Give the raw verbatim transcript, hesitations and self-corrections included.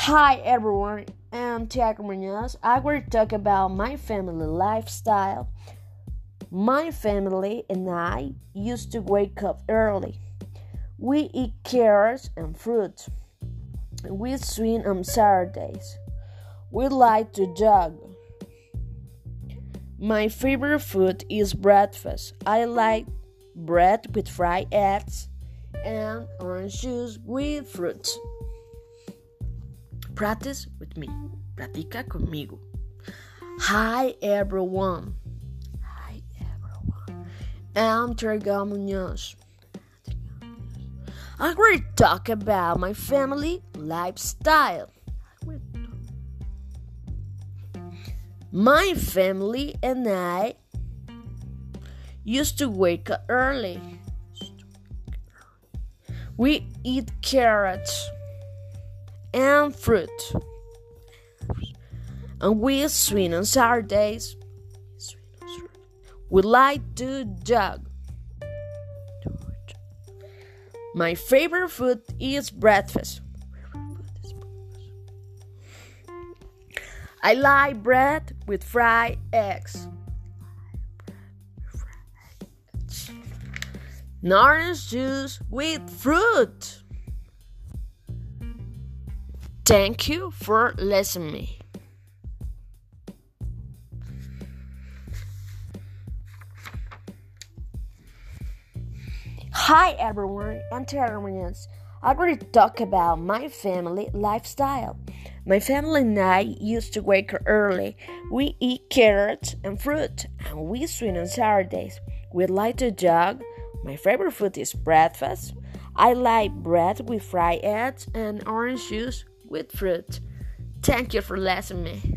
Hi everyone, I'm Tiago Munoz. I will talk about my family lifestyle. My family and I used to wake up early. We eat carrots and fruit. We swim on Saturdays. We like to jog. My favorite food is breakfast. I like bread with fried eggs and orange juice with fruit. Practice with me. Practica conmigo. Hi everyone. Hi everyone. I'm Tiago Munoz. I will talk about my family lifestyle. My family and I used to wake up early. We eat carrots and fruit, and we swim on Saturdays. We like to jog. My favorite food is breakfast. I like bread with fried eggs. Orange juice with fruit. Thank you for listening to me. Hi everyone, I'm Tiago Munoz. I will talk about my family lifestyle. My family and I used to wake up early. We eat carrots and fruit, and we swim on Saturdays. We like to jog. My favorite food is breakfast. I like bread with fried eggs and orange juice with fruit. Thank you for listening to me.